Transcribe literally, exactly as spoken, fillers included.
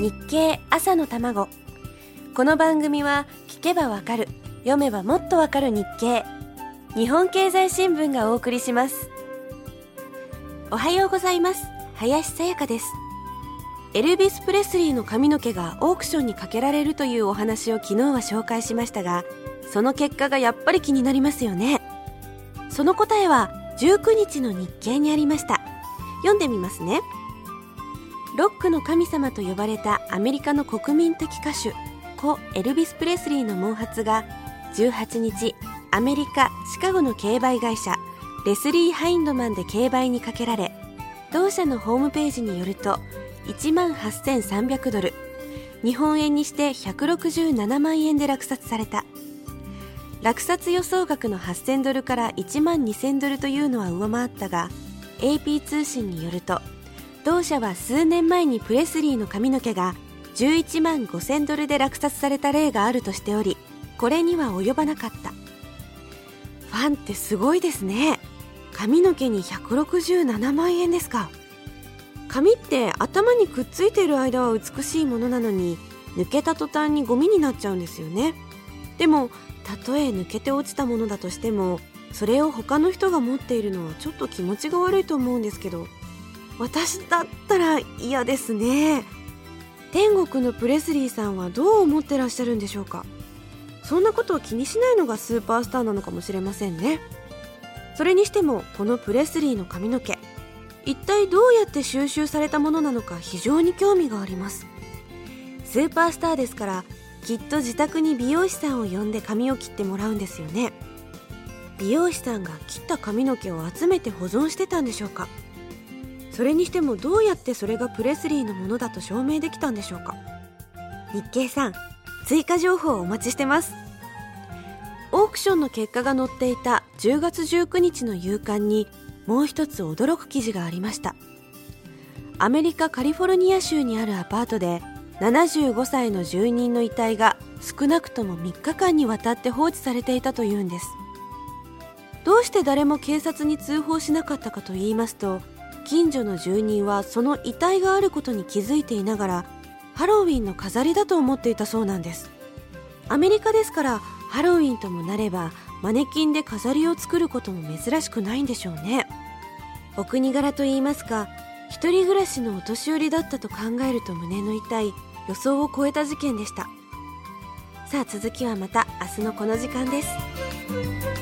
日経朝の卵。この番組は聞けばわかる、読めばもっとわかる日経、日本経済新聞がお送りします。おはようございます。林さやかです。エルビス・プレスリーの髪の毛がオークションにかけられるというお話を昨日は紹介しましたが、その結果がやっぱり気になりますよね。その答えはじゅうくにちの日経にありました。読んでみますね。ロックの神様と呼ばれたアメリカの国民的歌手故エルビス・プレスリーの毛髪がじゅうはちにち、アメリカ・シカゴの競売会社レスリー・ハインドマンで競売にかけられ、同社のホームページによるといちまんはっせんさんびゃくドル、日本円にしてひゃくろくじゅうななまんえんで落札された。落札予想額のはっせんドルからいちまんにせんドルというのは上回ったが、 エーピー 通信によると同社は数年前にプレスリーの髪の毛がじゅういちまんごせんドルで落札された例があるとしており、これには及ばなかった。ファンってすごいですね。髪の毛にひゃくろくじゅうななまんえんですか。髪って頭にくっついている間は美しいものなのに、抜けた途端にゴミになっちゃうんですよね。でもたとえ抜けて落ちたものだとしても、それを他の人が持っているのはちょっと気持ちが悪いと思うんですけど、私だったら嫌ですね。天国のプレスリーさんはどう思ってらっしゃるんでしょうか。そんなことを気にしないのがスーパースターなのかもしれませんね。それにしてもこのプレスリーの髪の毛、一体どうやって収集されたものなのか非常に興味があります。スーパースターですから、きっと自宅に美容師さんを呼んで髪を切ってもらうんですよね。美容師さんが切った髪の毛を集めて保存してたんでしょうか。それにしてもどうやってそれがプレスリーのものだと証明できたんでしょうか。日経さん、追加情報をお待ちしてます。オークションの結果が載っていたじゅうがつじゅうくにちの夕刊にもう一つ驚く記事がありました。アメリカカリフォルニア州にあるアパートでななじゅうごさいの住人の遺体が少なくともみっかかんにわたって放置されていたというんです。どうして誰も警察に通報しなかったかと言いますと、近所の住人はその遺体があることに気づいていながら、ハロウィンの飾りだと思っていたそうなんです。アメリカですから、ハロウィンともなればマネキンで飾りを作ることも珍しくないんでしょうね。お国柄と言いますか、一人暮らしのお年寄りだったと考えると胸の痛い、予想を超えた事件でした。さあ続きはまた明日のこの時間です。